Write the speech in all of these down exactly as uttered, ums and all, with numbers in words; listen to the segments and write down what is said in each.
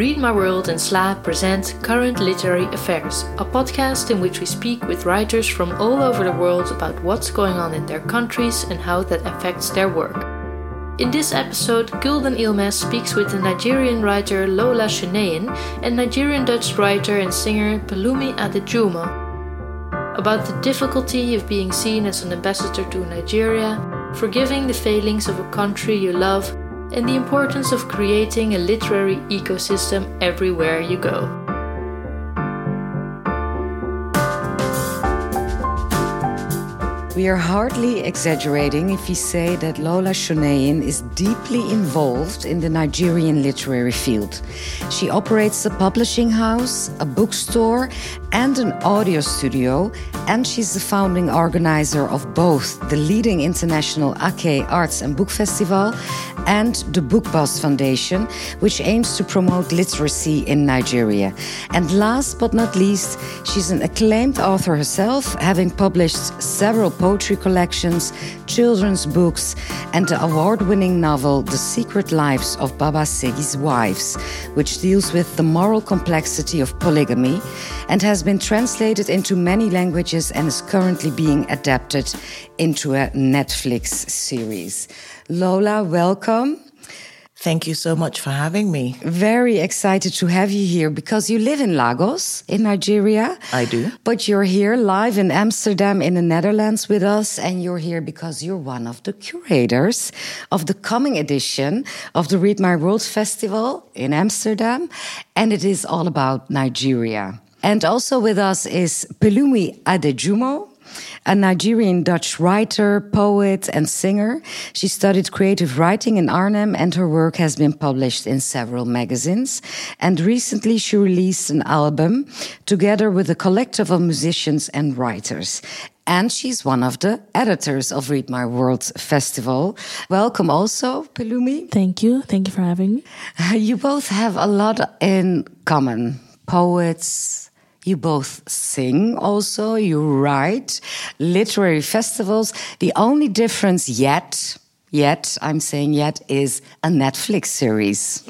Read My World and S L A present Current Literary Affairs, a podcast in which we speak with writers from all over the world about what's going on in their countries and how that affects their work. In this episode, Gulden Ilmes speaks with the Nigerian writer Lola Shoneyin and Nigerian-Dutch writer and singer Pelumi Adejumo about the difficulty of being seen as an ambassador to Nigeria, forgiving the failings of a country you love, and the importance of creating a literary ecosystem everywhere you go. We are hardly exaggerating if we say that Lola Shoneyin is deeply involved in the Nigerian literary field. She operates a publishing house, a bookstore, and an audio studio, and she's the founding organizer of both the leading international Ake Arts and Book Festival and the Book Boss Foundation, which aims to promote literacy in Nigeria. And last but not least, she's an acclaimed author herself, having published several poetry collections, children's books, and the award-winning novel The Secret Lives of Baba Segi's Wives, which deals with the moral complexity of polygamy and has been translated into many languages and is currently being adapted into a Netflix series. Lola, welcome. Thank you so much for having me. Very excited to have you here because you live in Lagos, in Nigeria. I do. But you're here live in Amsterdam, in the Netherlands with us. And you're here because you're one of the curators of the coming edition of the Read My World Festival in Amsterdam. And it is all about Nigeria. And also with us is Pelumi Adejumo, a Nigerian-Dutch writer, poet, and singer. She studied creative writing in Arnhem, and her work has been published in several magazines. And recently she released an album together with a collective of musicians and writers. And she's one of the editors of Read My World Festival. Welcome also, Pelumi. Thank you. Thank you for having me. You both have a lot in common. Poets. You both sing also, you write, literary festivals. The only difference yet, yet, I'm saying yet, is a Netflix series.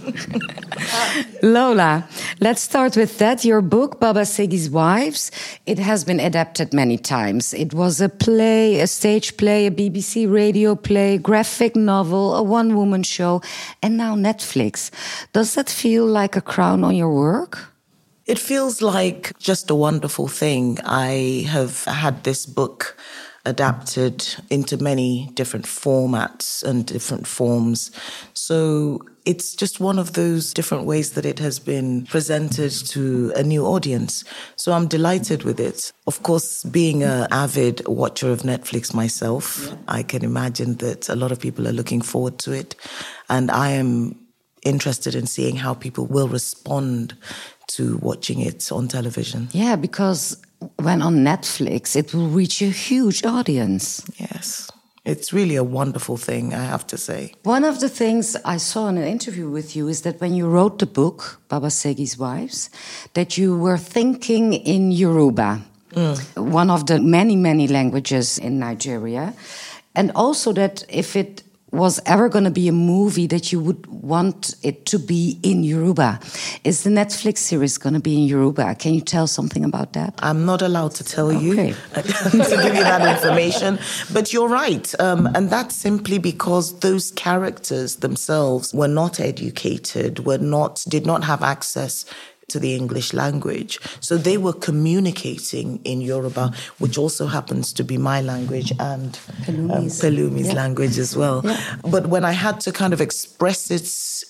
Lola, let's start with that. Your book, Baba Segi's Wives, it has been adapted many times. It was a play, a stage play, a B B C radio play, graphic novel, a one-woman show, and now Netflix. Does that feel like a crown on your work? It feels like just a wonderful thing. I have had this book adapted into many different formats and different forms. So it's just one of those different ways that it has been presented to a new audience. So I'm delighted with it. Of course, being an avid watcher of Netflix myself, yeah. I can imagine that a lot of people are looking forward to it. And I am interested in seeing how people will respond to watching it on television. Yeah, because when on Netflix, it will reach a huge audience. Yes, it's really a wonderful thing, I have to say. One of the things I saw in an interview with you is that when you wrote the book, Baba Segi's Wives, that you were thinking in Yoruba, mm. one of the many, many languages in Nigeria. And also that if it was ever going to be a movie that you would want it to be in Yoruba. Is the Netflix series going to be in Yoruba? Can you tell something about that? I'm not allowed to tell okay. you, to give you that information. But you're right. Um, and that's simply because those characters themselves were not educated, were not, did not have access to the English language. So they were communicating in Yoruba, which also happens to be my language and Pelumi's, um, Pelumi's yeah. language as well. Yeah. But when I had to kind of express it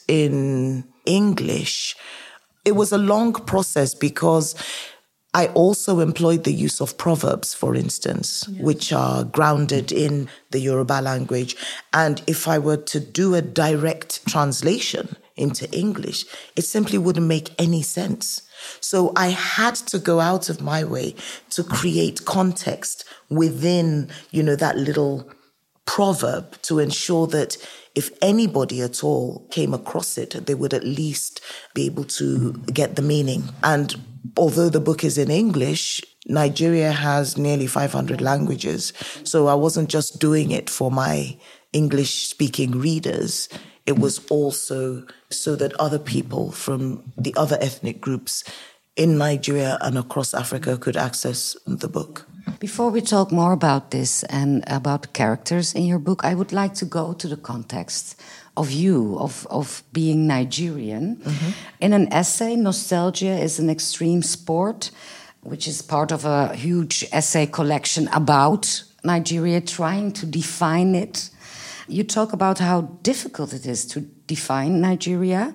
in English, it was a long process because I also employed the use of proverbs, for instance, yes. which are grounded in the Yoruba language. And if I were to do a direct translation into English, it simply wouldn't make any sense. So I had to go out of my way to create context within, you know, that little proverb to ensure that if anybody at all came across it, they would at least be able to get the meaning. And although the book is in English, Nigeria has nearly five hundred languages. So I wasn't just doing it for my English-speaking readers. it was also so that other people from the other ethnic groups in Nigeria and across Africa could access the book. Before we talk more about this and about the characters in your book, I would like to go to the context of you, of, of being Nigerian. Mm-hmm. In an essay, Nostalgia is an extreme sport, which is part of a huge essay collection about Nigeria, trying to define it. You talk about how difficult it is to define Nigeria.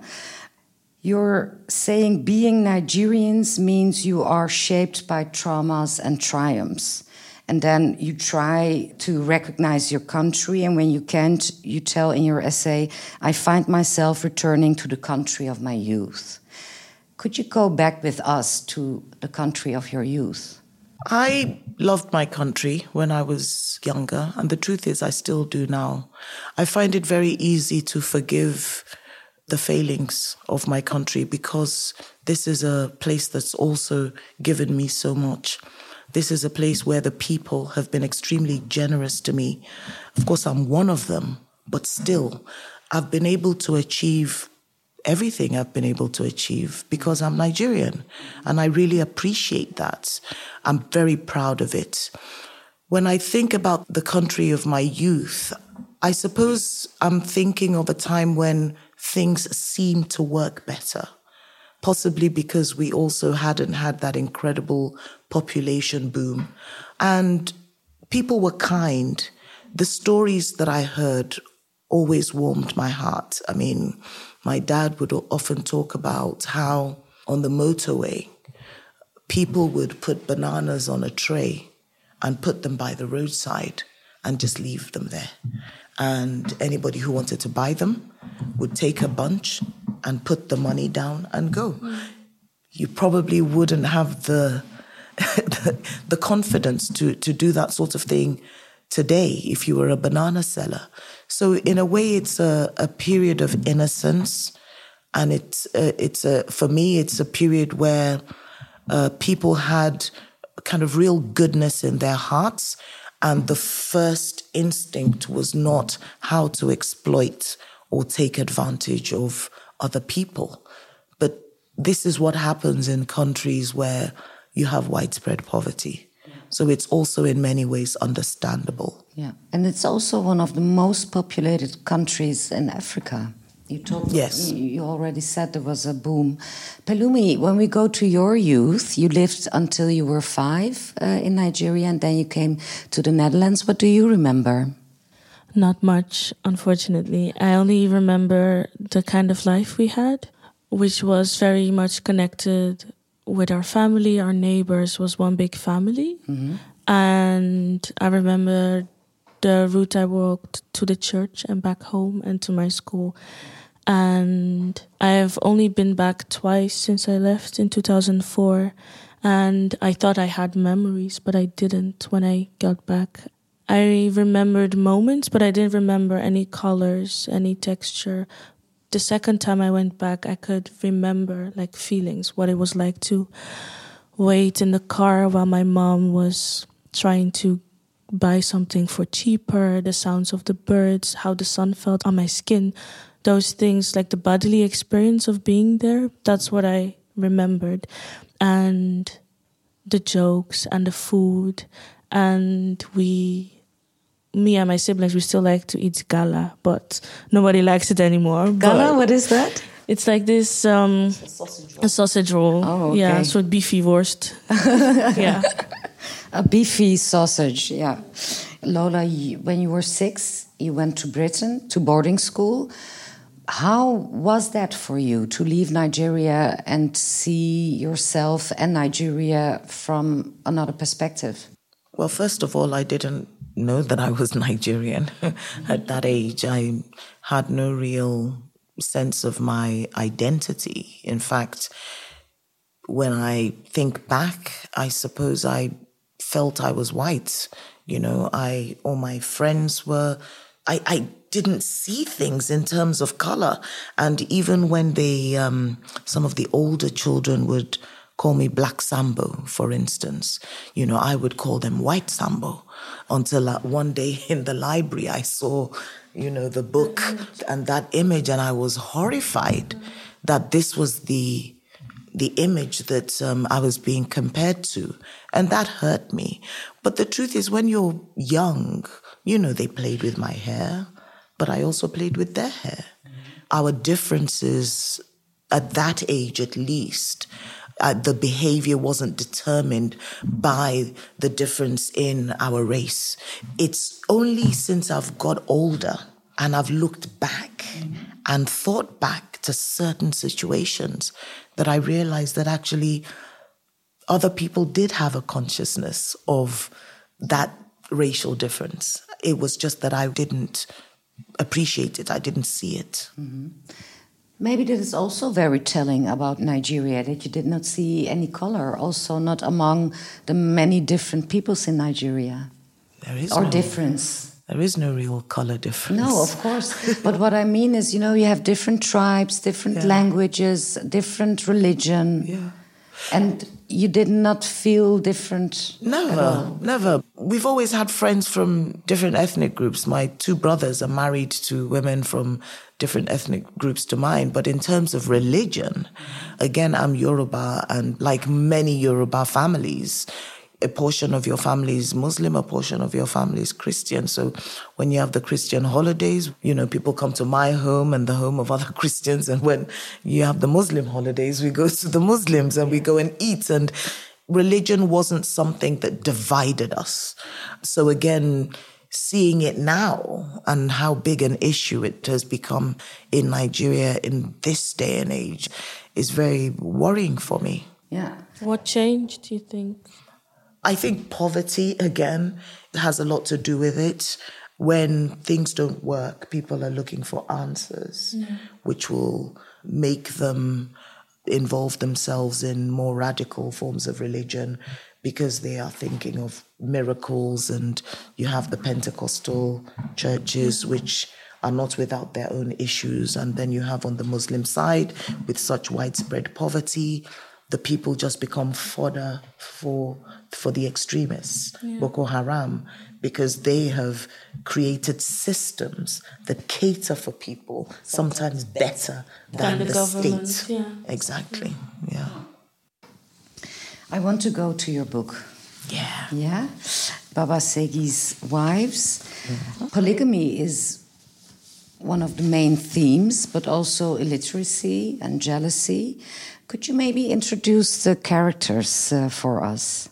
You're saying being Nigerians means you are shaped by traumas and triumphs. And then you try to recognize your country, and when you can't, you tell in your essay, I find myself returning to the country of my youth. Could you go back with us to the country of your youth? I loved my country when I was younger, and the truth is I still do now. I find it very easy to forgive the failings of my country because this is a place that's also given me so much. This is a place where the people have been extremely generous to me. Of course, I'm one of them, but still, I've been able to achieve everything I've been able to achieve because I'm Nigerian, and I really appreciate that. I'm very proud of it. When I think about the country of my youth, I suppose I'm thinking of a time when things seemed to work better, possibly because we also hadn't had that incredible population boom. And people were kind. The stories that I heard always warmed my heart. I mean, my dad would often talk about how on the motorway, people would put bananas on a tray and put them by the roadside and just leave them there. And anybody who wanted to buy them would take a bunch and put the money down and go. Mm. You probably wouldn't have the, the, the confidence to, to do that sort of thing today if you were a banana seller. So in a way, it's a, a period of innocence. And it's, uh, it's a, for me, it's a period where uh, people had kind of real goodness in their hearts. And the first instinct was not how to exploit or take advantage of other people. But this is what happens in countries where you have widespread poverty. So it's also in many ways understandable. Yeah, and it's also one of the most populated countries in Africa. You talked. Yes. You already said there was a boom. Pelumi, when we go to your youth, you lived until you were five uh, in Nigeria, and then you came to the Netherlands. What do you remember? Not much, unfortunately. I only remember the kind of life we had, which was very much connected with our family. Our neighbors was one big family. Mm-hmm. And I remember the route I walked to the church and back home and to my school. And I've only been back twice since I left in two thousand four. And I thought I had memories, but I didn't when I got back. I remembered moments, but I didn't remember any colors, any texture. The second time I went back, I could remember like feelings, what it was like to wait in the car while my mom was trying to buy something for cheaper, the sounds of the birds, how the sun felt on my skin. Those things, like the bodily experience of being there, that's what I remembered. And the jokes and the food. And we, me and my siblings, we still like to eat gala, but nobody likes it anymore. Gala, what is that? It's like this um, a sausage roll. A sausage roll. Oh, okay. Yeah, so beefy wurst. Yeah. A beefy sausage, yeah. Lola, you, when you were six, you went to Britain, to boarding school. How was that for you, to leave Nigeria and see yourself and Nigeria from another perspective? Well, first of all, I didn't know that I was Nigerian. At that age, I had no real sense of my identity. In fact, when I think back, I suppose I felt I was white. You know, I all my friends were, I, I didn't see things in terms of color. And even when they, um, some of the older children would call me Black Sambo, for instance. You know, I would call them White Sambo until uh, one day in the library I saw, you know, the book and that image, and I was horrified that this was the the image that um, I was being compared to. And that hurt me. But the truth is, when you're young, you know, they played with my hair, but I also played with their hair. Mm-hmm. Our differences at that age, at least, uh, the behavior wasn't determined by the difference in our race. It's only since I've got older and I've looked back mm-hmm. and thought back to certain situations that I realized that actually other people did have a consciousness of that racial difference. It was just that I didn't appreciate it. I didn't see it. Mm-hmm. Maybe that is also very telling about Nigeria, that you did not see any color, also not among the many different peoples in Nigeria. There is or no, difference. There is no real color difference. No, of course. But what I mean is, you know, you have different tribes, different yeah. languages, different religion. Yeah. And you did not feel different? Never, never. We've always had friends from different ethnic groups. My two brothers are married to women from different ethnic groups to mine. But in terms of religion, again, I'm Yoruba, and like many Yoruba families, a portion of your family is Muslim, a portion of your family is Christian. So when you have the Christian holidays, you know, people come to my home and the home of other Christians. And when you have the Muslim holidays, we go to the Muslims and we go and eat. And religion wasn't something that divided us. So again, seeing it now and how big an issue it has become in Nigeria in this day and age is very worrying for me. Yeah. What changed, do you think? I think poverty, again, has a lot to do with it. When things don't work, people are looking for answers, yeah. which will make them involve themselves in more radical forms of religion because they are thinking of miracles. And you have the Pentecostal churches, which are not without their own issues. And then you have on the Muslim side, with such widespread poverty, the people just become fodder for for the extremists, yeah. Boko Haram, because they have created systems that cater for people sometimes better than the, the state. Yeah. Exactly, yeah. I want to go to your book. Yeah. Yeah? Baba Segi's Wives. Mm-hmm. Polygamy is one of the main themes, but also illiteracy and jealousy. Could you maybe introduce the characters uh, for us?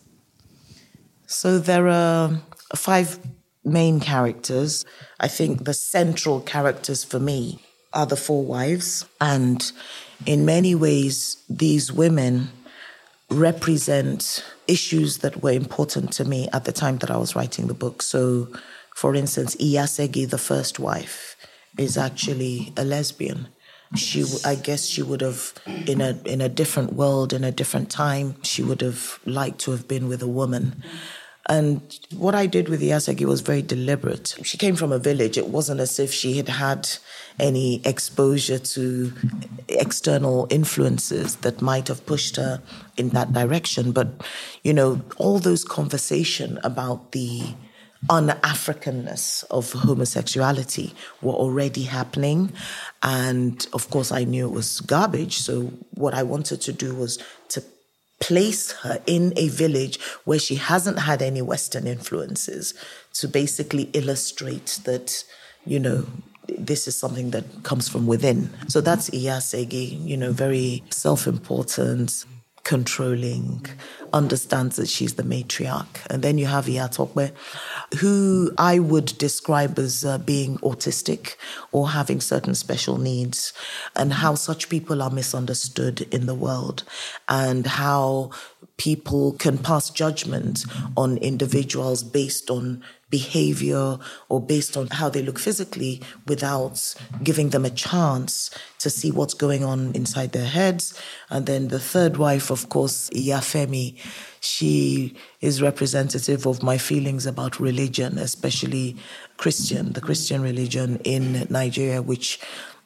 So there are five main characters. I think the central characters for me are the four wives. And in many ways, these women represent issues that were important to me at the time that I was writing the book. So, for instance, Iyasegi, the first wife, is actually a lesbian. She, I guess she would have, in a in a different world, in a different time, she would have liked to have been with a woman. And what I did with Iyasegi was very deliberate. She came from a village. It wasn't as if she had had any exposure to external influences that might have pushed her in that direction. But, you know, all those conversation about the un-Africanness of homosexuality were already happening. And of course, I knew it was garbage. So what I wanted to do was to place her in a village where she hasn't had any Western influences, to basically illustrate that, you know, this is something that comes from within. So that's Iyasegi, you know, very self-important, controlling, understands that she's the matriarch. And then you have Iyatope, who I would describe as uh, being autistic or having certain special needs, and how such people are misunderstood in the world, and how people can pass judgment on individuals based on behavior or based on how they look physically without giving them a chance to see what's going on inside their heads. And then the third wife, of course, Iyafemi, she is representative of my feelings about religion, especially Christian, the Christian religion in Nigeria, which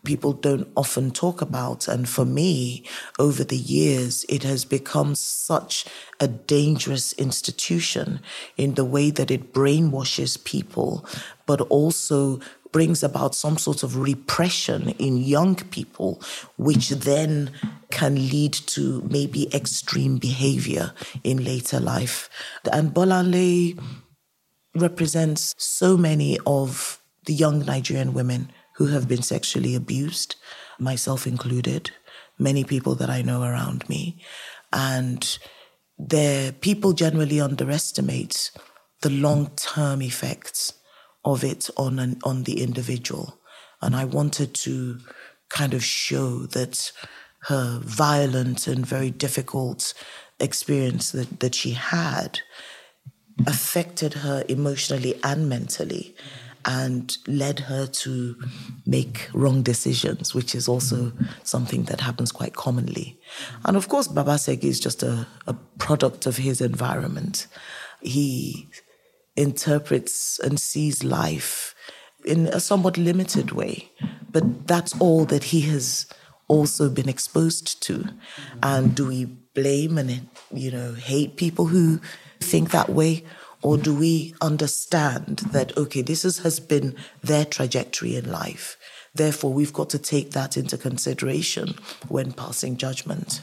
people don't often talk about. And for me, over the years, it has become such a dangerous institution in the way that it brainwashes people, but also brings about some sort of repression in young people, which then can lead to maybe extreme behavior in later life. And Bolanle represents so many of the young Nigerian women who have been sexually abused, myself included, many people that I know around me. And there, people generally underestimate the long-term effects of it on an, on the individual. And I wanted to kind of show that her violent and very difficult experience that, that she had affected her emotionally and mentally, and led her to make wrong decisions, which is also something that happens quite commonly. And of course, Babasegi is just a, a product of his environment. He interprets and sees life in a somewhat limited way, but that's all that he has also been exposed to. And do we blame and, you know, hate people who think that way? Or do we understand that, okay, this is, has been their trajectory in life. Therefore, we've got to take that into consideration when passing judgment.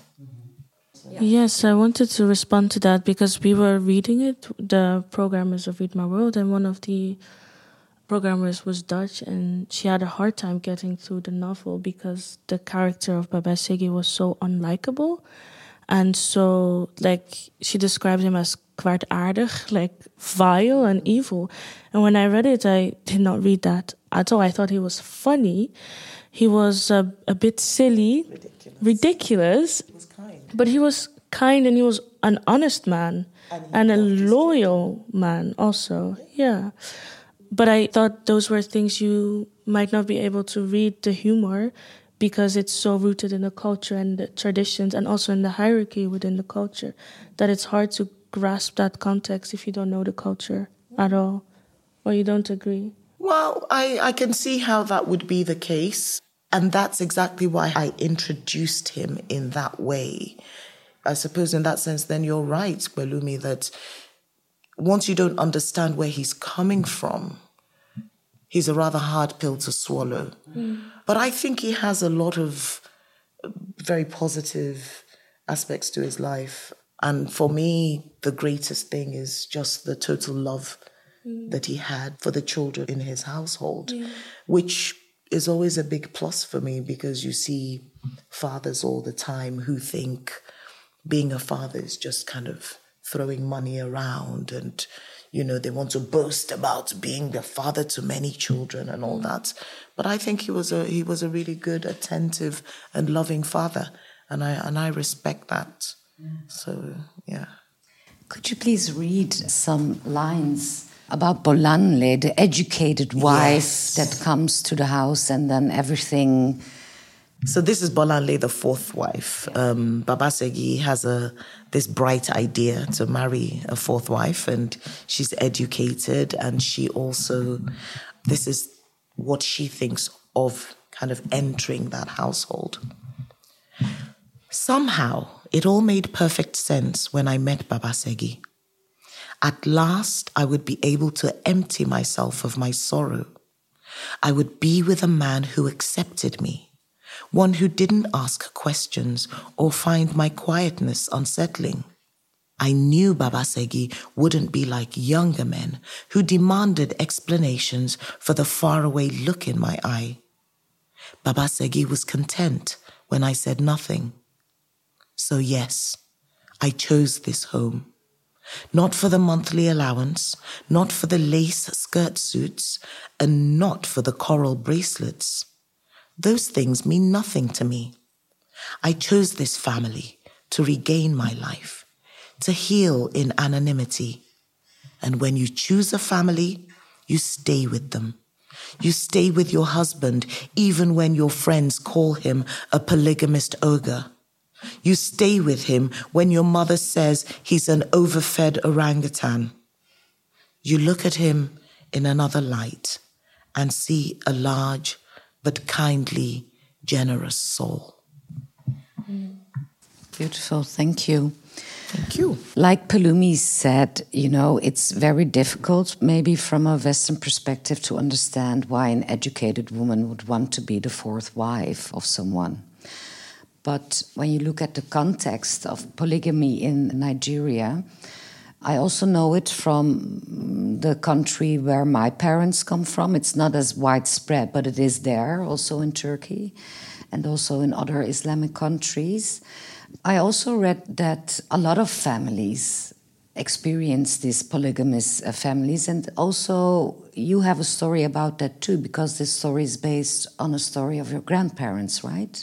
Yes, I wanted to respond to that because we were reading it, the programmers of Read My World, and one of the programmers was Dutch, and she had a hard time getting through the novel because the character of Babasegi was so unlikable. And so, like, she described him as kwaadaardig, like vile and evil. And when I read it, I did not read that at all. I thought he was funny. He was uh, a bit silly, ridiculous. ridiculous He was kind. But he was kind, and he was an honest man and, and a loyal man also. Yeah. But I thought those were things you might not be able to read the humor, because it's so rooted in the culture and the traditions and also in the hierarchy within the culture that it's hard to grasp that context if you don't know the culture at all, or you don't agree. Well, I, I can see how that would be the case. And that's exactly why I introduced him in that way. I suppose in that sense, then you're right, Belumi, that once you don't understand where he's coming from, he's a rather hard pill to swallow. Mm. But I think he has a lot of very positive aspects to his life. And for me, the greatest thing is just the total love mm. that he had for the children in his household, yeah. which is always a big plus for me, because you see fathers all the time who think being a father is just kind of throwing money around, and you know, they want to boast about being the father to many children and all that. But I think he was a he was a really good, attentive, and loving father, and I and I respect that. Mm. So yeah. Could you please read some lines about Bolanle, the educated wife yes. that comes to the house and then everything? So this is Bolanle, the fourth wife. Um, Babasegi has a this bright idea to marry a fourth wife, and she's educated, and she also, this is what she thinks of kind of entering that household. Somehow, it all made perfect sense when I met Babasegi. At last, I would be able to empty myself of my sorrow. I would be with a man who accepted me, one who didn't ask questions or find my quietness unsettling. I knew Babasegi wouldn't be like younger men who demanded explanations for the faraway look in my eye. Babasegi was content when I said nothing. So yes, I chose this home. Not for the monthly allowance, not for the lace skirt suits, and not for the coral bracelets. Those things mean nothing to me. I chose this family to regain my life, to heal in anonymity. And when you choose a family, you stay with them. You stay with your husband even when your friends call him a polygamist ogre. You stay with him when your mother says he's an overfed orangutan. You look at him in another light and see a large but kindly generous soul. Beautiful, thank you. Thank you. Like Pelumi said, you know, it's very difficult, maybe from a Western perspective, to understand why an educated woman would want to be the fourth wife of someone. But when you look at the context of polygamy in Nigeria, I also know it from the country where my parents come from. It's not as widespread, but it is there, also in Turkey and also in other Islamic countries. I also read that a lot of families experience these polygamous uh, families, and also you have a story about that too, because this story is based on a story of your grandparents, right?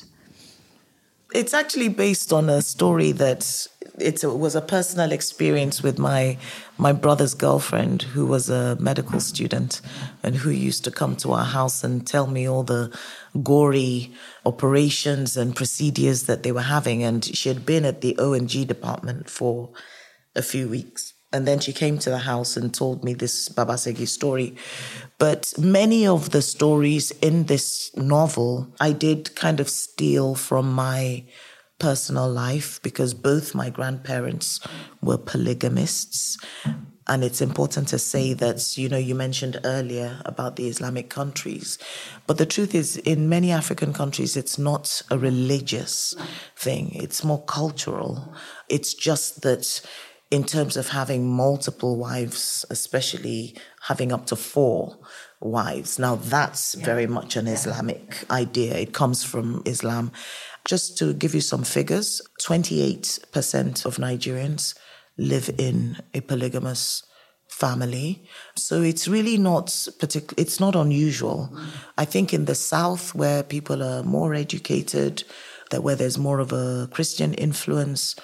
It's actually based on a story that it was a personal experience with my my brother's girlfriend, who was a medical student and who used to come to our house and tell me all the gory operations and procedures that they were having. And she had been at the O and G department for a few weeks. And then she came to the house and told me this Babasegi story. But many of the stories in this novel, I did kind of steal from my personal life, because both my grandparents were polygamists. And it's important to say that, you know, you mentioned earlier about the Islamic countries. But the truth is, in many African countries, it's not a religious thing. It's more cultural. It's just that in terms of having multiple wives, especially having up to four wives. Now, that's yeah. very much an Islamic idea. It comes from Islam. Just to give you some figures, twenty-eight percent of Nigerians live in a polygamous family. So it's really not particular. It's not unusual. Mm. I think in the South, where people are more educated, that where there's more of a Christian influence,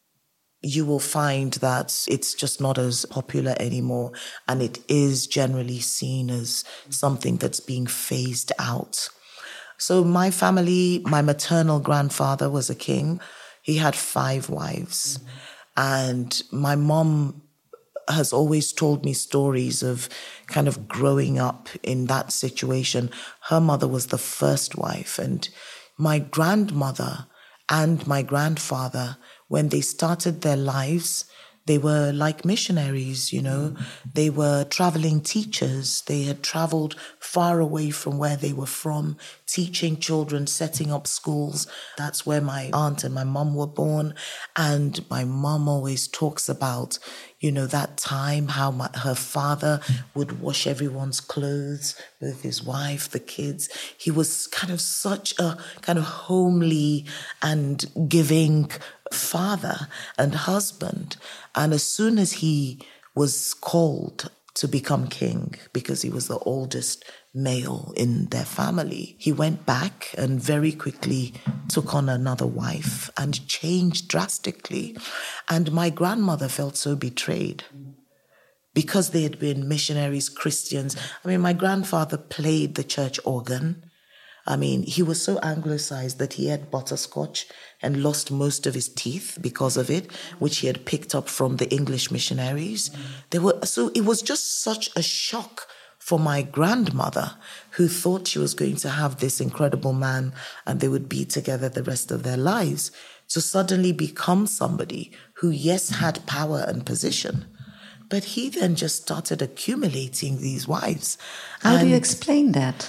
you will find that it's just not as popular anymore. And it is generally seen as something that's being phased out. So my family, my maternal grandfather was a king. He had five wives. Mm-hmm. And my mom has always told me stories of kind of growing up in that situation. Her mother was the first wife. And my grandmother and my grandfather, when they started their lives, they were like missionaries, you know. Mm-hmm. They were traveling teachers. They had traveled far away from where they were from, teaching children, setting up schools. That's where my aunt and my mum were born. And my mum always talks about, you know, that time, how my, her father would wash everyone's clothes with his wife, the kids. He was kind of such a kind of homely and giving father and husband. And as soon as he was called to become king, because he was the oldest male in their family, he went back and very quickly took on another wife and changed drastically. And my grandmother felt so betrayed because they had been missionaries, Christians. I mean, my grandfather played the church organ. I mean, he was so anglicized that he had butterscotch and lost most of his teeth because of it, which he had picked up from the English missionaries. They were, so it was just such a shock for my grandmother, who thought she was going to have this incredible man and they would be together the rest of their lives, to suddenly become somebody who, yes, had power and position, but he then just started accumulating these wives. How and do you explain that?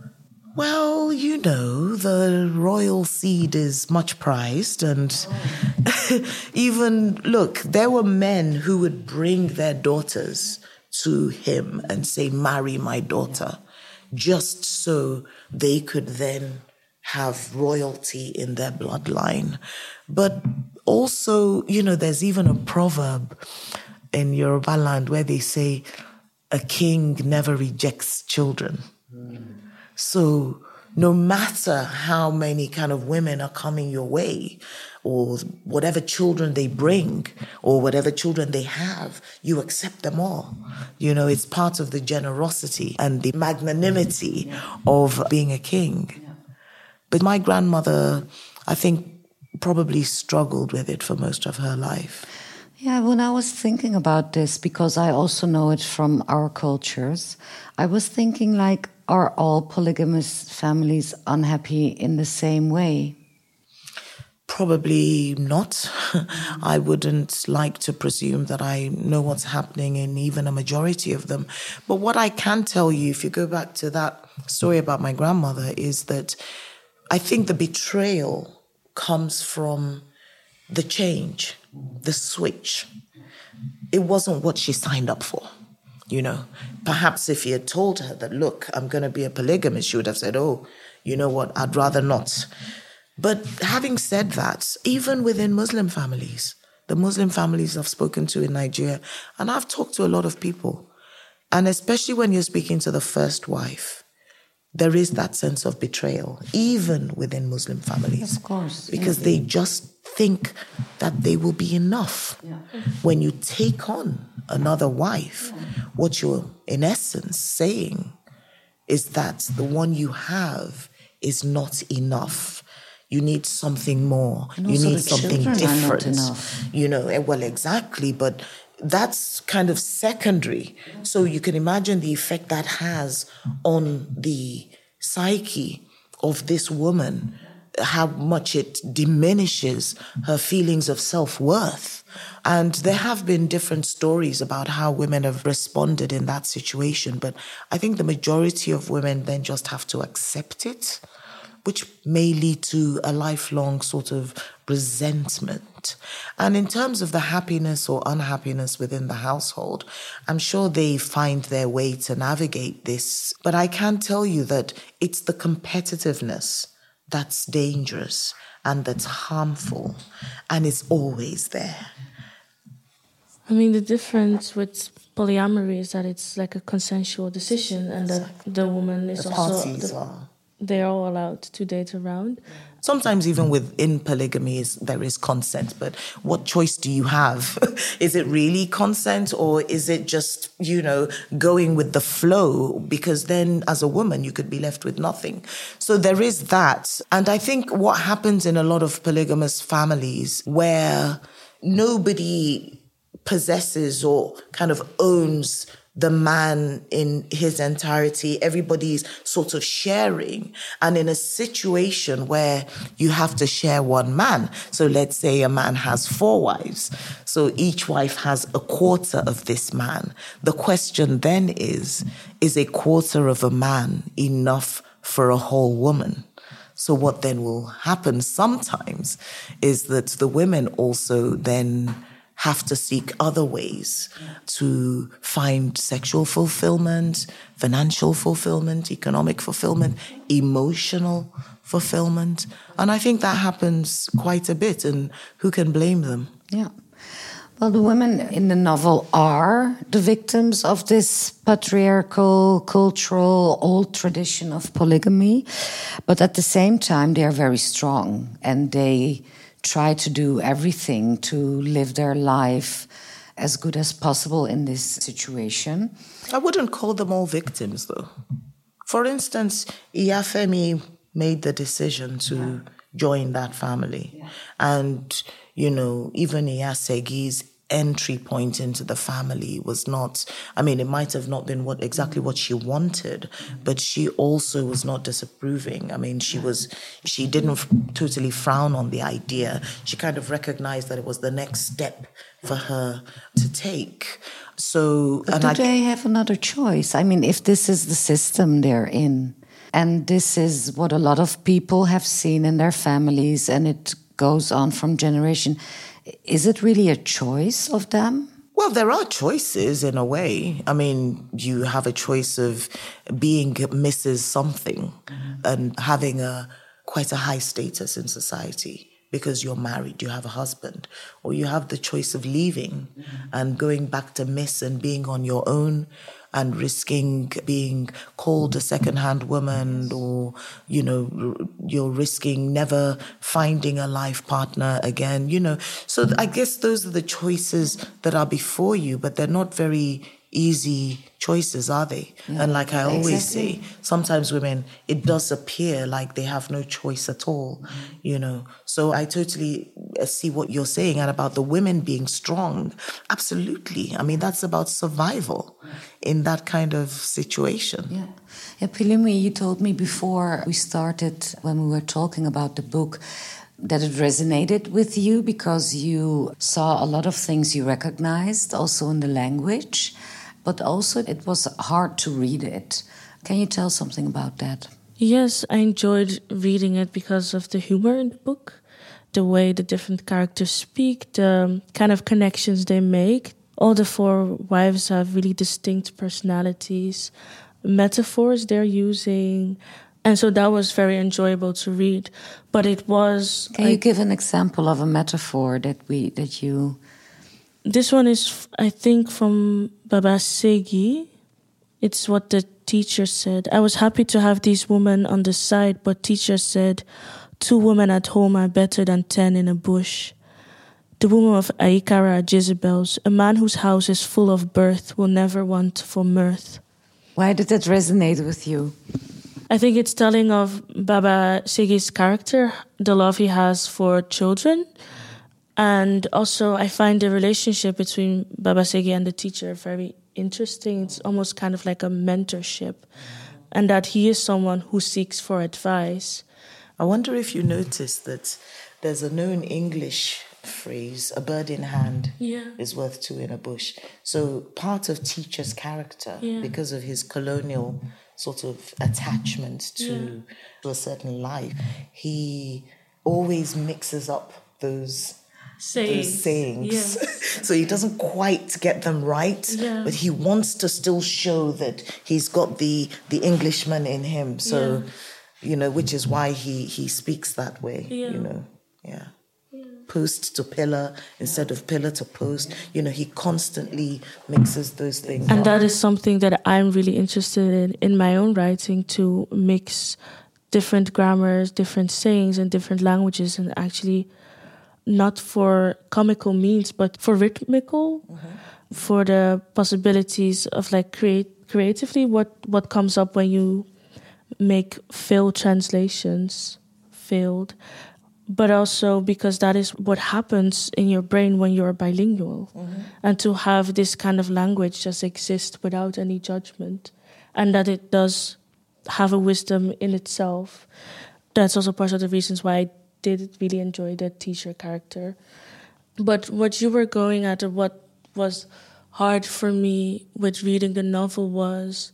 Well, you know, the royal seed is much prized. And even, look, there were men who would bring their daughters to him and say, marry my daughter, just so they could then have royalty in their bloodline. But also, you know, there's even a proverb in Yoruba land where they say, a king never rejects children. Mm. So no matter how many kind of women are coming your way, or whatever children they bring, or whatever children they have, you accept them all. You know, it's part of the generosity and the magnanimity yeah. of being a king. Yeah. But my grandmother, I think, probably struggled with it for most of her life. Yeah, when I was thinking about this, because I also know it from our cultures, I was thinking like, are all polygamous families unhappy in the same way? Probably not. I wouldn't like to presume that I know what's happening in even a majority of them. But what I can tell you, if you go back to that story about my grandmother, is that I think the betrayal comes from the change, the switch. It wasn't what she signed up for, you know. Perhaps if you had told her that, look, I'm going to be a polygamist, she would have said, oh, you know what, I'd rather not. But having said that, even within Muslim families, the Muslim families I've spoken to in Nigeria, and I've talked to a lot of people, and especially when you're speaking to the first wife, there is that sense of betrayal, even within Muslim families. Of course. Because they just think that they will be enough. Yeah. When you take on another wife, yeah. what you're in essence saying is that the one you have is not enough. You need something more. And you need the something children different. Are not enough. You know, well, exactly, but that's kind of secondary. So you can imagine the effect that has on the psyche of this woman, how much it diminishes her feelings of self-worth. And there have been different stories about how women have responded in that situation. But I think the majority of women then just have to accept it, which may lead to a lifelong sort of resentment. And in terms of the happiness or unhappiness within the household, I'm sure they find their way to navigate this. But I can tell you that it's the competitiveness that's dangerous and that's harmful, and it's always there. I mean, the difference with polyamory is that it's like a consensual decision, and that the woman is the also... Parties the, are. They're all allowed to date around. Sometimes even within polygamy, is, there is consent, but what choice do you have? Is it really consent, or is it just, you know, going with the flow? Because then as a woman, you could be left with nothing. So there is that. And I think what happens in a lot of polygamous families where nobody possesses or kind of owns the man in his entirety, everybody's sort of sharing. And in a situation where you have to share one man, so let's say a man has four wives, so each wife has a quarter of this man. The question then is, is a quarter of a man enough for a whole woman? So what then will happen sometimes is that the women also then have to seek other ways to find sexual fulfillment, financial fulfillment, economic fulfillment, emotional fulfillment. And I think that happens quite a bit, and who can blame them? Yeah. Well, the women in the novel are the victims of this patriarchal, cultural, old tradition of polygamy. But at the same time, they are very strong, and they try to do everything to live their life as good as possible in this situation. I wouldn't call them all victims, though. For instance, Iyafemi made the decision to yeah. join that family. Yeah. And, you know, even Iyasegi's entry point into the family was not, I mean, it might have not been what exactly what she wanted, but she also was not disapproving. I mean, she was, she didn't f- totally frown on the idea. She kind of recognized that it was the next step for her to take. So, but and do I, they have another choice? I mean, if this is the system they're in, and this is what a lot of people have seen in their families, and it goes on from generation, is it really a choice of them? Well, there are choices in a way. I mean, you have a choice of being Missus Something mm-hmm. and having a quite a high status in society because you're married, you have a husband. Or you have the choice of leaving mm-hmm. and going back to Miss and being on your own and risking being called a second-hand woman, or, you know, you're risking never finding a life partner again, you know. So I guess those are the choices that are before you, but they're not very easy choices, are they? Yeah, and like I always exactly. say, sometimes women, it does appear like they have no choice at all, mm-hmm. you know. So I totally see what you're saying, and about the women being strong. Absolutely. I mean, that's about survival in that kind of situation. Yeah. Yeah, Pilumi, you told me before we started, when we were talking about the book, that it resonated with you because you saw a lot of things you recognized, also in the language, but also it was hard to read it. Can you tell something about that? Yes, I enjoyed reading it because of the humor in the book, the way the different characters speak, the kind of connections they make. All the four wives have really distinct personalities, metaphors they're using. And so that was very enjoyable to read. But it was... Can like, you give an example of a metaphor that we that you... This one is, I think, from Baba Segi. It's what the teacher said. I was happy to have these women on the side, but teacher said, two women at home are better than ten in a bush. The women of Aikara are Jezebels. A man whose house is full of birth will never want for mirth. Why did that resonate with you? I think it's telling of Baba Segi's character, the love he has for children. And also I find the relationship between Baba Segi and the teacher very interesting. It's almost kind of like a mentorship. And that he is someone who seeks for advice. I wonder if you noticed that there's a known English phrase, a bird in hand yeah. is worth two in a bush. So part of teacher's character, yeah. because of his colonial sort of attachment to, yeah. to a certain life, he always mixes up those sayings. Those sayings. Yes. So he doesn't quite get them right, yeah. but he wants to still show that he's got the, the Englishman in him. So, yeah. you know, which is why he, he speaks that way, yeah. you know, yeah. Post to pillar instead of pillar to post. You know, he constantly mixes those things And up. that is something that I'm really interested in in my own writing, to mix different grammars, different sayings and different languages, and actually not for comical means, but for rhythmical, mm-hmm. for the possibilities of like create creatively what, what comes up when you make failed translations, failed. But also because that is what happens in your brain when you're bilingual. Mm-hmm. And to have this kind of language just exist without any judgment, and that it does have a wisdom in itself. That's also part of the reasons why I did really enjoy that teacher character. But what you were going at, or what was hard for me with reading the novel, was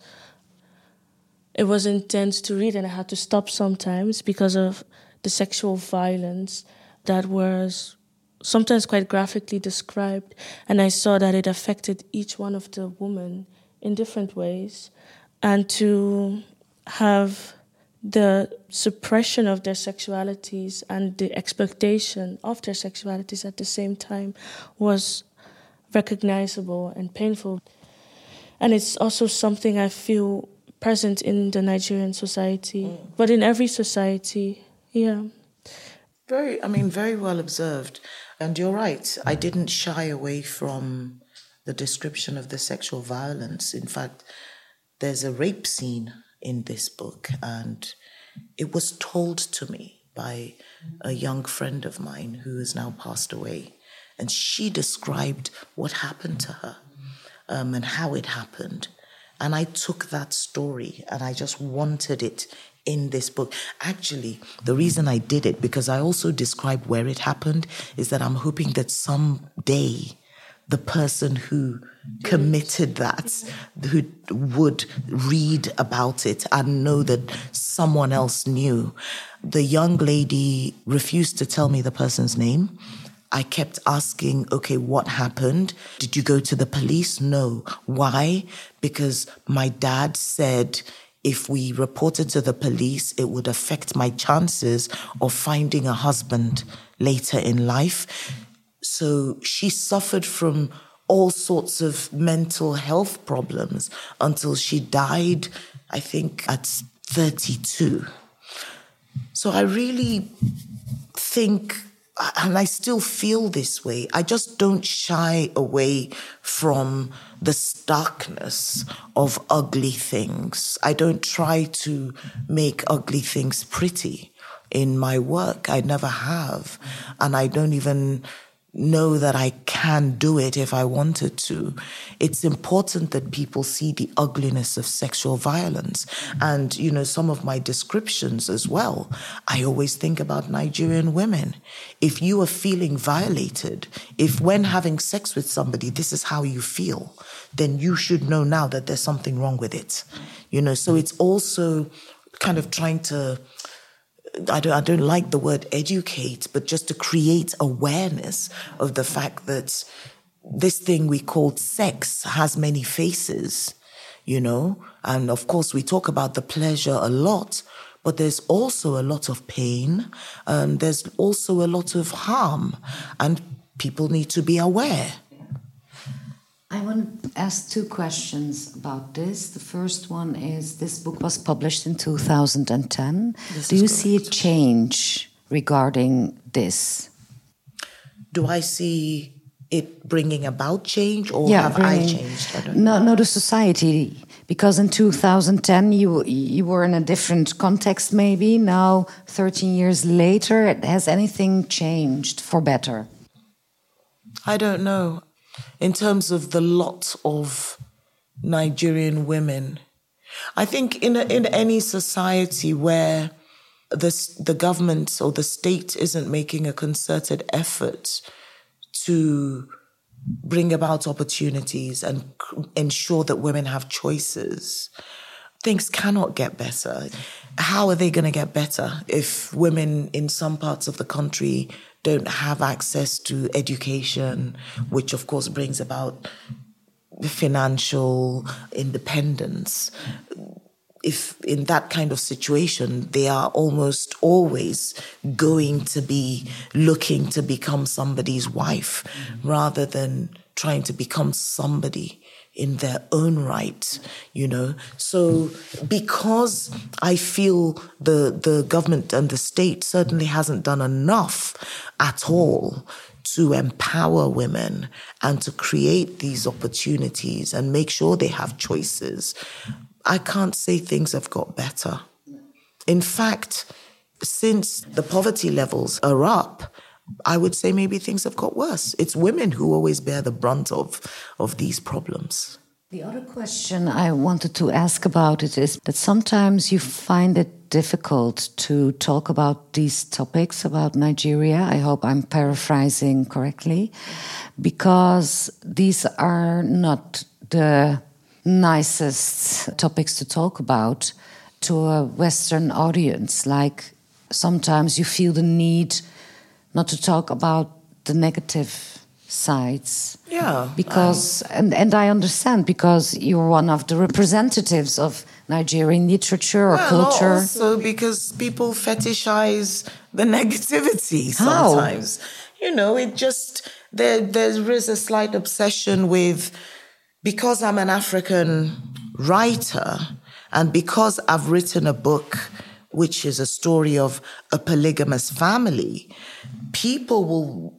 it was intense to read, and I had to stop sometimes because of the sexual violence that was sometimes quite graphically described. And I saw that it affected each one of the women in different ways. And to have the suppression of their sexualities and the expectation of their sexualities at the same time was recognizable and painful. And it's also something I feel present in the Nigerian society, mm. but in every society. Yeah. Very, I mean, very well observed. And you're right. I didn't shy away from the description of the sexual violence. In fact, there's a rape scene in this book, and it was told to me by a young friend of mine who has now passed away. And she described what happened to her um, and how it happened. And I took that story and I just wanted it in this book. Actually, the reason I did it, because I also described where it happened, is that I'm hoping that someday the person who committed that, who would read about it and know that someone else knew. The young lady refused to tell me the person's name. I kept asking, okay, what happened? Did you go to the police? No. Why? Because my dad said if we reported to the police, it would affect my chances of finding a husband later in life. So she suffered from all sorts of mental health problems until she died, I think, at thirty-two. So I really think, and I still feel this way, I just don't shy away from the starkness of ugly things. I don't try to make ugly things pretty in my work. I never have. And I don't even know that I can do it if I wanted to. It's important that people see the ugliness of sexual violence. And, you know, some of my descriptions as well, I always think about Nigerian women. If you are feeling violated, if when having sex with somebody, this is how you feel, then you should know now that there's something wrong with it. You know, so it's also kind of trying to, I don't, I don't like the word educate, but just to create awareness of the fact that this thing we call sex has many faces, you know? And of course, we talk about the pleasure a lot, but there's also a lot of pain, and there's also a lot of harm, and people need to be aware. I want to ask two questions about this. The first one is, this book was published in two thousand ten. This Do you correct. see a change regarding this? Do I see it bringing about change, or yeah, have bringing, I changed? I don't no, no, the society. Because in two thousand ten you you were in a different context maybe. Now, thirteen years later, has anything changed for better? I don't know. In terms of the lot of Nigerian women, I think in a, in any society where the the government or the state isn't making a concerted effort to bring about opportunities and ensure that women have choices, things cannot get better. How are they going to get better if women in some parts of the country don't have access to education, which of course brings about financial independence? If in that kind of situation, they are almost always going to be looking to become somebody's wife, mm-hmm. rather than trying to become somebody in their own right, you know. So because I feel the the government and the state certainly hasn't done enough at all to empower women and to create these opportunities and make sure they have choices, I can't say things have got better. In fact, since the poverty levels are up, I would say maybe things have got worse. It's women who always bear the brunt of, of these problems. The other question I wanted to ask about it is that sometimes you find it difficult to talk about these topics about Nigeria. I hope I'm paraphrasing correctly, because these are not the nicest topics to talk about to a Western audience. Like sometimes you feel the need not to talk about the negative sides. Yeah. Because, um, and, and I understand, because you're one of the representatives of Nigerian literature or well, culture. Also because people fetishize the negativity sometimes. How? You know, it just, there, there is a slight obsession with, because I'm an African writer and because I've written a book which is a story of a polygamous family, people will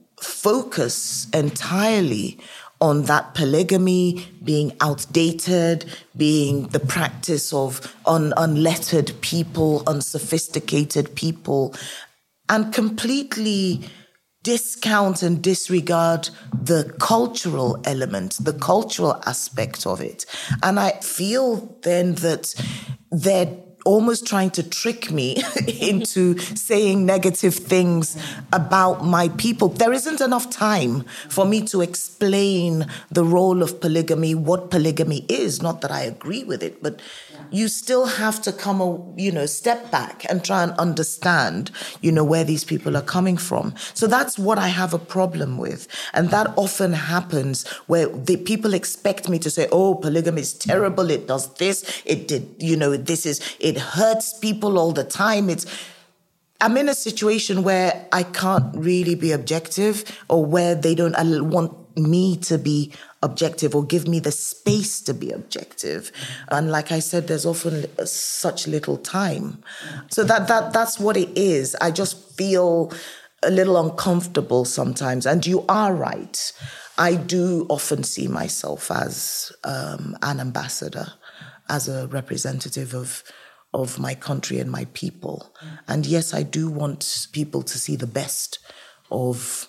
focus entirely on that polygamy being outdated, being the practice of un- unlettered people, unsophisticated people, and completely discount and disregard the cultural element, the cultural aspect of it. And I feel then that they're almost trying to trick me into saying negative things about my people. There isn't enough time for me to explain the role of polygamy, what polygamy is. Not that I agree with it, but you still have to come, you know, step back and try and understand, you know, where these people are coming from. So that's what I have a problem with. And that often happens where the people expect me to say, oh, polygamy is terrible. It does this. It did, you know, this is, it hurts people all the time. It's, I'm in a situation where I can't really be objective, or where they don't want me to be objective or give me the space to be objective. And like I said, there's often such little time. So that that that's what it is. I just feel a little uncomfortable sometimes. And you are right. I do often see myself as um, an ambassador, as a representative of of my country and my people. And yes, I do want people to see the best of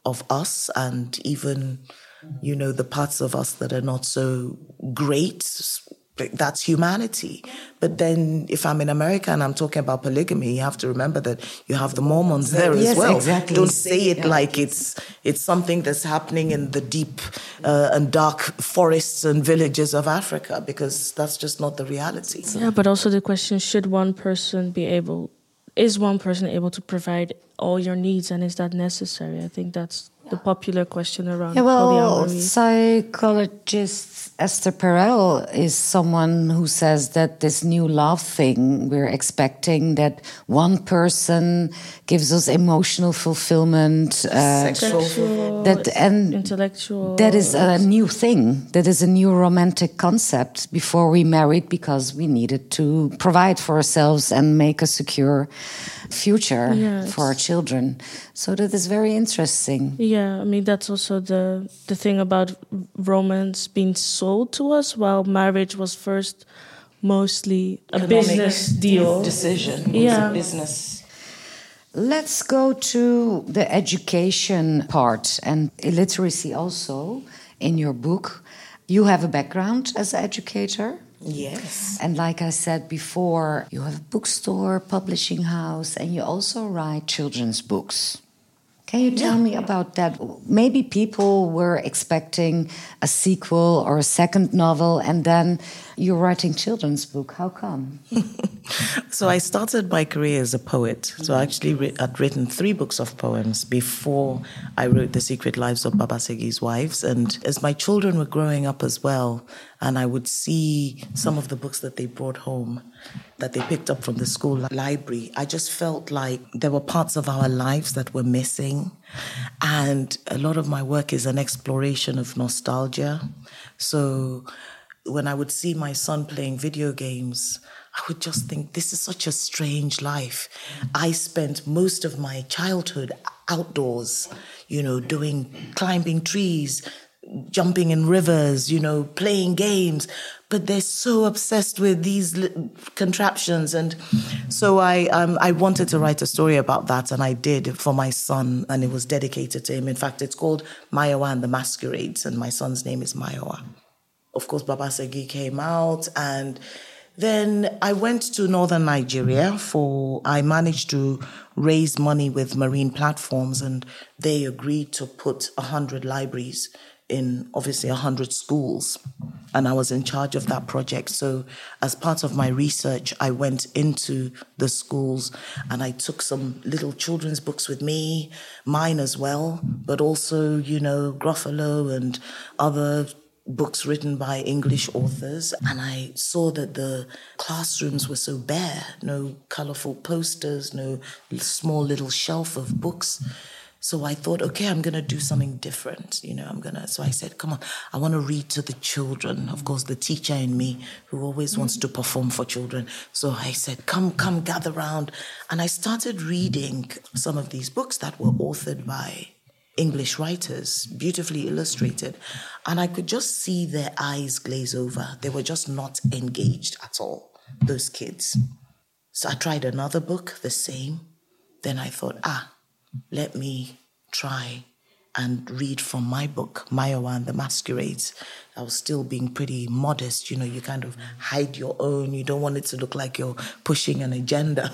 of us and even, you know, the parts of us that are not so great. That's humanity. But then if I'm in America and I'm talking about polygamy, you have to remember that you have the Mormons there yes, as well. Exactly. Don't say it like it's it's something that's happening in the deep uh, and dark forests and villages of Africa, because that's just not the reality. Yeah, but also the question, should one person be able, is one person able to provide all your needs, and is that necessary? I think that's the popular question around yeah, well, polyamory. Psychologist Esther Perel is someone who says that this new love thing, we're expecting that one person gives us emotional fulfillment, uh, sexual, that and intellectual. That is a new thing. That is a new romantic concept. Before we married, because we needed to provide for ourselves and make a secure future yes. for our children. So that is very interesting. Yeah, I mean, that's also the the thing about romance being sold to us, while marriage was first mostly a Economic business deal. Decision. Yeah. A business. Let's go to the education part and illiteracy also in your book. You have a background as an educator. Yes. And like I said before, you have a bookstore, publishing house, and you also write children's books. Can you tell Yeah. me about that? Maybe people were expecting a sequel or a second novel, and then you're writing children's book. How come? So I started my career as a poet. So I actually re- had written three books of poems before I wrote The Secret Lives of Baba Segi's Wives. And as my children were growing up as well, and I would see some of the books that they brought home, that they picked up from the school library, I just felt like there were parts of our lives that were missing. And a lot of my work is an exploration of nostalgia. So when I would see my son playing video games, I would just think, this is such a strange life. I spent most of my childhood outdoors, you know, doing, climbing trees, jumping in rivers, you know, playing games. But they're so obsessed with these contraptions. And so I um, I wanted to write a story about that, and I did for my son, and it was dedicated to him. In fact, it's called Mayowa and the Masquerades, and my son's name is Mayowa. Of course, Baba Segi came out, and then I went to northern Nigeria for, I managed to raise money with Marine Platforms, and they agreed to put one hundred libraries in, obviously, one hundred schools. And I was in charge of that project. So as part of my research, I went into the schools and I took some little children's books with me, mine as well, but also, you know, Gruffalo and other books written by English authors. And I saw that the classrooms were so bare, no colorful posters, no small little shelf of books. So I thought, okay, I'm going to do something different. You know, I'm going to, so I said, come on, I want to read to the children. Of course, the teacher in me who always wants to perform for children. So I said, come, come, gather round. And I started reading some of these books that were authored by English writers, beautifully illustrated. And I could just see their eyes glaze over. They were just not engaged at all, those kids. So I tried another book, the same. Then I thought, ah, let me try and read from my book, Mayowa and the Masquerades. I was still being pretty modest. You know, you kind of hide your own. You don't want it to look like you're pushing an agenda.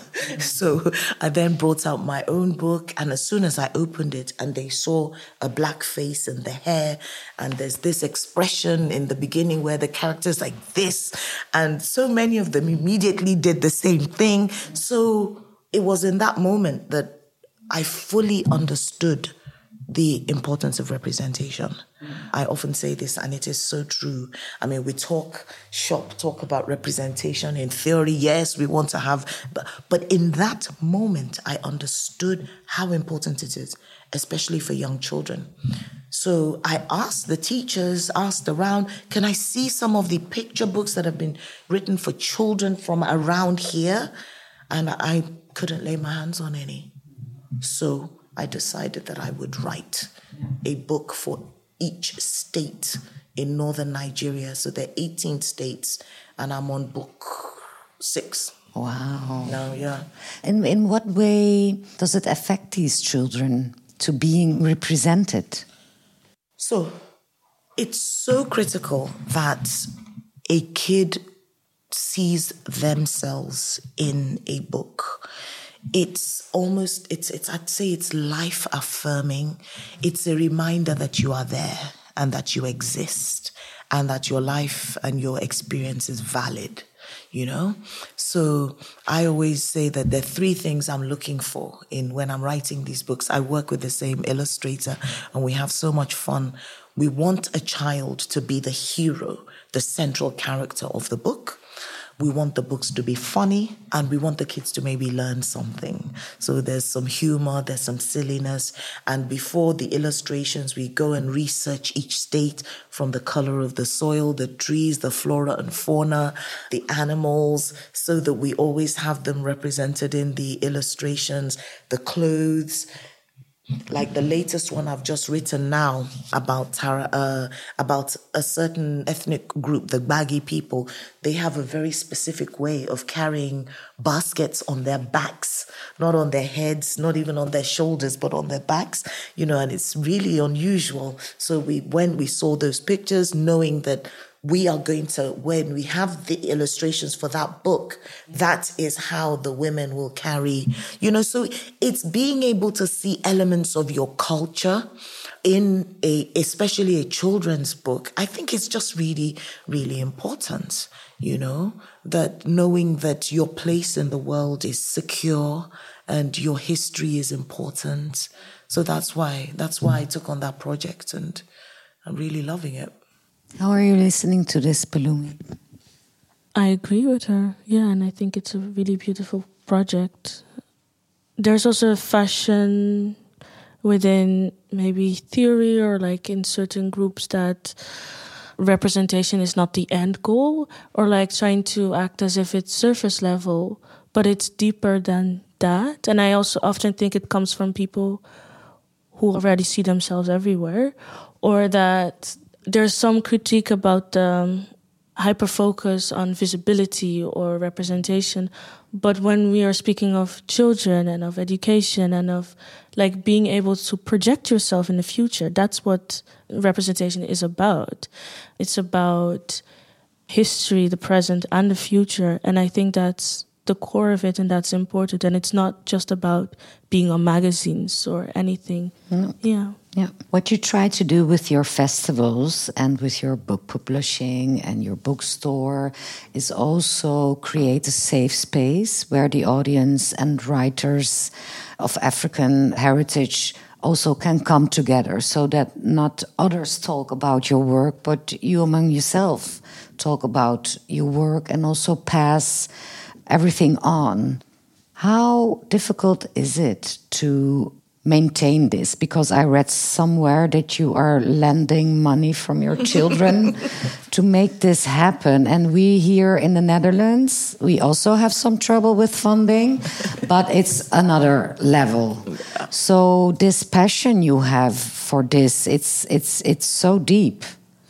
So I then brought out my own book. And as soon as I opened it and they saw a black face and the hair, and there's this expression in the beginning where the character's like this, and so many of them immediately did the same thing. So it was in that moment that I fully understood the importance of representation. Mm. I often say this, and it is so true. I mean, we talk shop, talk about representation in theory. Yes, we want to have, but, but in that moment, I understood how important it is, especially for young children. So I asked the teachers, asked around, can I see some of the picture books that have been written for children from around here? And I couldn't lay my hands on any. So I decided that I would write a book for each state in northern Nigeria. So there are eighteen states, and I'm on book six. Wow. Now, yeah. And in what way does it affect these children? to being represented? So it's so critical that a kid sees themselves in a book. It's almost, it's, it's, I'd say it's life affirming. It's a reminder that you are there and that you exist and that your life and your experience is valid, you know? So I always say that there are three things I'm looking for in when I'm writing these books. I work with the same illustrator and we have so much fun. We want a child to be the hero, the central character of the book. We want the books to be funny and we want the kids to maybe learn something. So there's some humor, there's some silliness. And before the illustrations, we go and research each state from the color of the soil, the trees, the flora and fauna, the animals, so that we always have them represented in the illustrations, the clothes. Like the latest one I've just written now about Tara, uh, about a certain ethnic group, the Baggy people. They have a very specific way of carrying baskets on their backs, not on their heads, not even on their shoulders, but on their backs, you know, and it's really unusual. So we, when we saw those pictures, knowing that we are going to, when we have the illustrations for that book, that is how the women will carry, you know, so it's being able to see elements of your culture in a, especially a children's book. I think it's just really, really important, you know, that knowing that your place in the world is secure and your history is important. So that's why, that's why I took on that project and I'm really loving it. How are you listening to this, Palumi? I agree with her, yeah, and I think it's a really beautiful project. There's also a fashion within maybe theory or like in certain groups that representation is not the end goal or like trying to act as if it's surface level, but it's deeper than that. And I also often think it comes from people who already see themselves everywhere, or that there's some critique about the um, hyper-focus on visibility or representation. But when we are speaking of children and of education and of like being able to project yourself in the future, that's what representation is about. It's about history, the present and the future. And I think that's the core of it, and that's important. And it's not just about being on magazines or anything. Mm. Yeah. Yeah. What you try to do with your festivals and with your book publishing and your bookstore is also create a safe space where the audience and writers of African heritage also can come together, so that not others talk about your work, but you among yourself talk about your work and also pass everything on. How difficult is it to maintain this? Because I read somewhere that you are lending money from your children to make this happen. And we here in the Netherlands, we also have some trouble with funding, but it's another level. So this passion you have for this, it's it's it's so deep.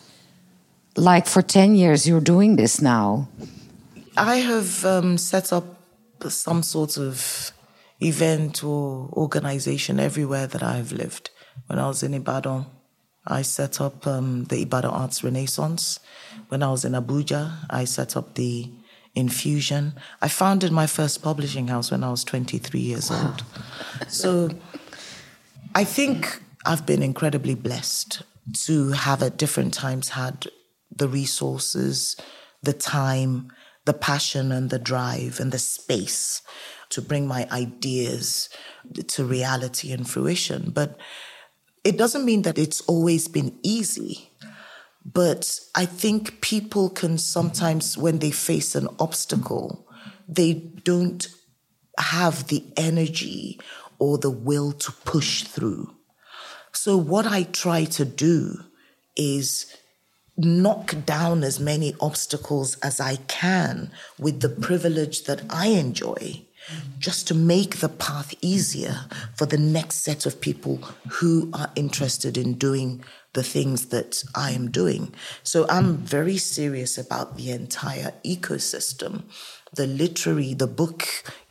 Like for ten years, you're doing this now. I have um, set up some sort of event or organization everywhere that I've lived. When I was in Ibadan, I set up um, the Ibadan Arts Renaissance. When I was in Abuja, I set up the Infusion. I founded my first publishing house when I was twenty-three years wow. old. So I think I've been incredibly blessed to have at different times had the resources, the time, the passion and the drive and the space to bring my ideas to reality and fruition. But it doesn't mean that it's always been easy. But I think people can sometimes, when they face an obstacle, they don't have the energy or the will to push through. So what I try to do is knock down as many obstacles as I can with the privilege that I enjoy, just to make the path easier for the next set of people who are interested in doing the things that I am doing. So I'm very serious about the entire ecosystem, the literary, the book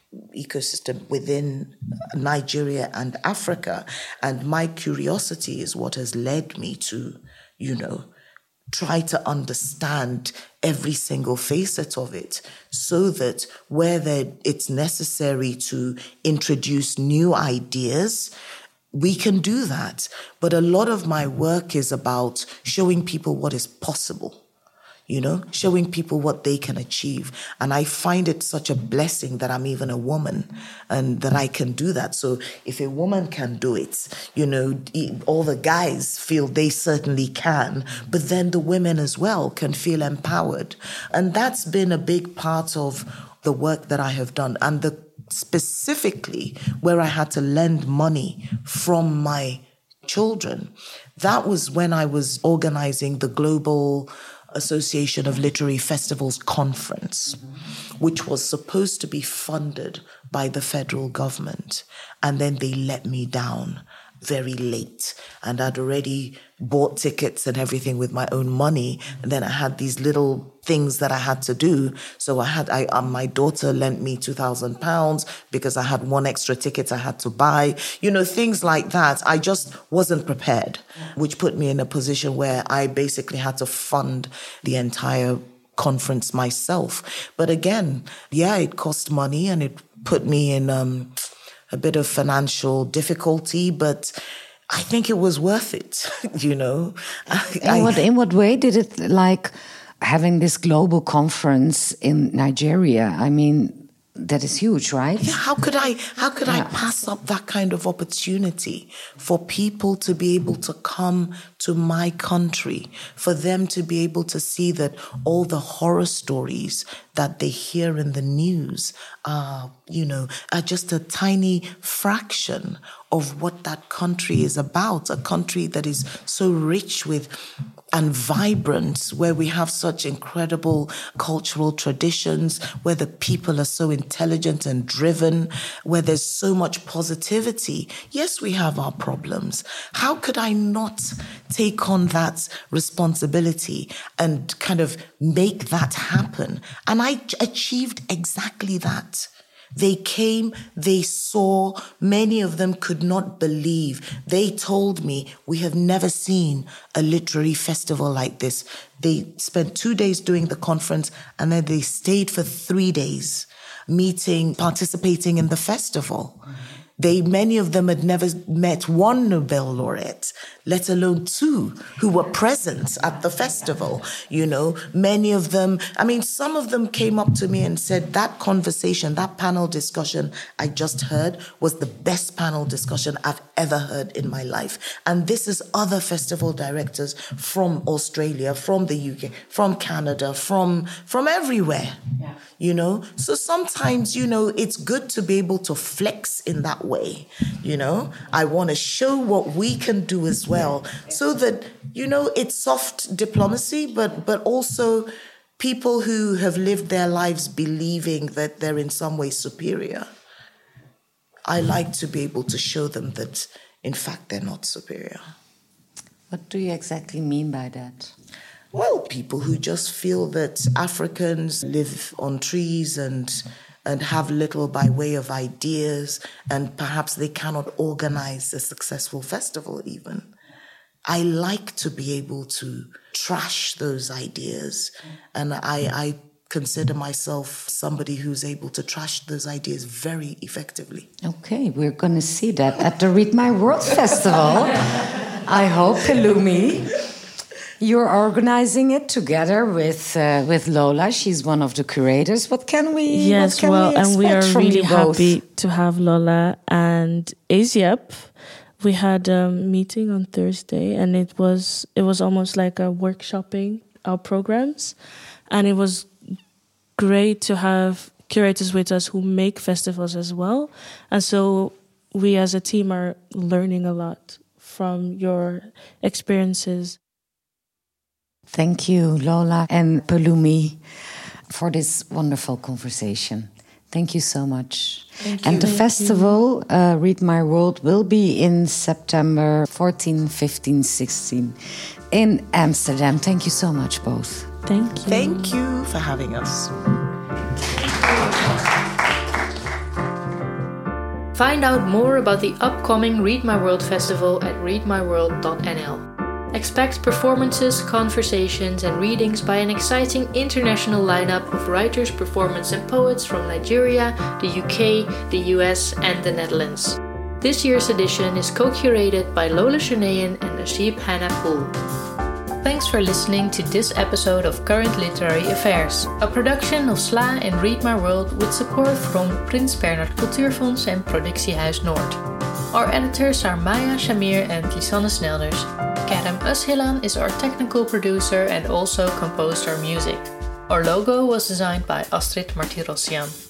ecosystem within Nigeria and Africa. And my curiosity is what has led me to, you know, try to understand every single facet of it, so that where it's necessary to introduce new ideas, we can do that. But a lot of my work is about showing people what is possible. You know, showing people what they can achieve. And I find it such a blessing that I'm even a woman and that I can do that. So if a woman can do it, you know, all the guys feel they certainly can, but then the women as well can feel empowered. And that's been a big part of the work that I have done. And the specifically where I had to lend money from my children, that was when I was organizing the Global Association of Literary Festivals conference, mm-hmm. which was supposed to be funded by the federal government. And then they let me down very late. And I'd already bought tickets and everything with my own money. And then I had these little things that I had to do. So I had, I, um, my daughter lent me two thousand pounds because I had one extra ticket I had to buy. You know, things like that. I just wasn't prepared, which put me in a position where I basically had to fund the entire conference myself. But again, yeah, it cost money and it put me in um, a bit of financial difficulty, but I think it was worth it, you know. In, I, what, in what way did it, like, having this global conference in Nigeria, I mean, that is huge, right? Yeah, how could I how could yeah. I pass up that kind of opportunity for people to be able to come to my country, for them to be able to see that all the horror stories that they hear in the news are, you know, are just a tiny fraction of what that country is about, a country that is so rich with and vibrant, where we have such incredible cultural traditions, where the people are so intelligent and driven, where there's so much positivity. Yes, we have our problems. How could I not take on that responsibility and kind of make that happen? And I achieved exactly that. They came, they saw, many of them could not believe. They told me, we have never seen a literary festival like this. They spent two days doing the conference and then they stayed for three days meeting, participating in the festival. Mm-hmm. They, many of them had never met one Nobel laureate, let alone two who were present at the festival. You know, many of them, I mean, some of them came up to me and said, that conversation, that panel discussion I just heard was the best panel discussion I've ever heard in my life. And this is other festival directors from Australia, from the U K, from Canada, from, from everywhere. Yeah. You know, so sometimes, you know, it's good to be able to flex in that way. You know, I want to show what we can do as well, so that, you know, it's soft diplomacy, but but also people who have lived their lives believing that they're in some way superior. I like to be able to show them that, in fact, they're not superior. What do you exactly mean by that? Well, people who just feel that Africans live on trees and and have little by way of ideas, and perhaps they cannot organize a successful festival even. I like to be able to trash those ideas, and I, I consider myself somebody who's able to trash those ideas very effectively. Okay, we're going to see that at the Read My World Festival. I hope, Pelumi. You're organizing it together with uh, with Lola. She's one of the curators. What can we? Yes, what can well, we and we are really both? happy to have Lola and Aziap. We had a meeting on Thursday, and it was it was almost like a workshopping our programs, and it was great to have curators with us who make festivals as well. And so we, as a team, are learning a lot from your experiences. Thank you, Lola and Pelumi, for this wonderful conversation. Thank you so much. Thank and you. the Thank festival, uh, Read My World, will be in September fourteen, fifteen, sixteen in Amsterdam. Thank you so much, both. Thank you. Thank you for having us. Find out more about the upcoming Read My World Festival at read my world dot n l. Expect performances, conversations and readings by an exciting international lineup of writers, performers and poets from Nigeria, the U K, the U S and the Netherlands. This year's edition is co-curated by Lola Shunayan and Najib Hannah Poole. Thanks for listening to this episode of Current Literary Affairs, a production of S L A and Read My World with support from Prins Bernhard Cultuurfonds en Productiehuis Noord. Our editors are Maya Shamir and Lisanne Snelders. Kerem Özhilan is our technical producer and also composed our music. Our logo was designed by Astrid Martirosyan.